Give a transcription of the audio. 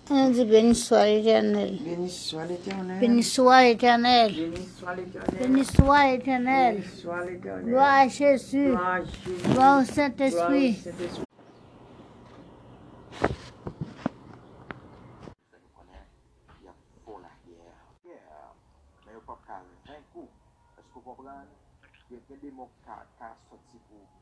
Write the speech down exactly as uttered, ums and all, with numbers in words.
On dit béni soit l'Éternel. Béni soit l'Éternel. Béni soit l'Éternel. Béni soit l'Éternel. Béni soit l'Éternel. Béni soit l'Éternel. Gloire à Jésus. Gloire à Jésus. Gloire au Gloire au Saint-Esprit. Saint-Esprit. Mais au pas calme, vingt coups. Est-ce que vous comprenez? Il y a des mots qui sont sortis pour